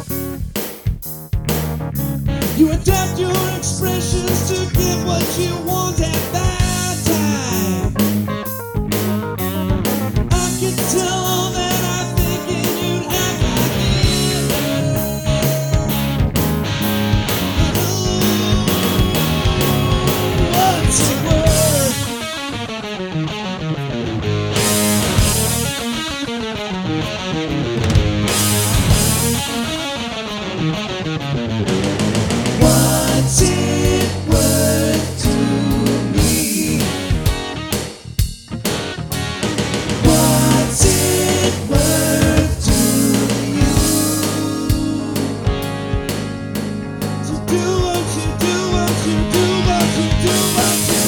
You adapt your expressions to get what you want at that time. I can tell that I'm thinking you'd act like it. What's the word? What's it worth to me? What's it worth to you? To do what you do, what you do, what you do, what you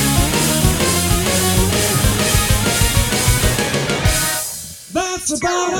That's about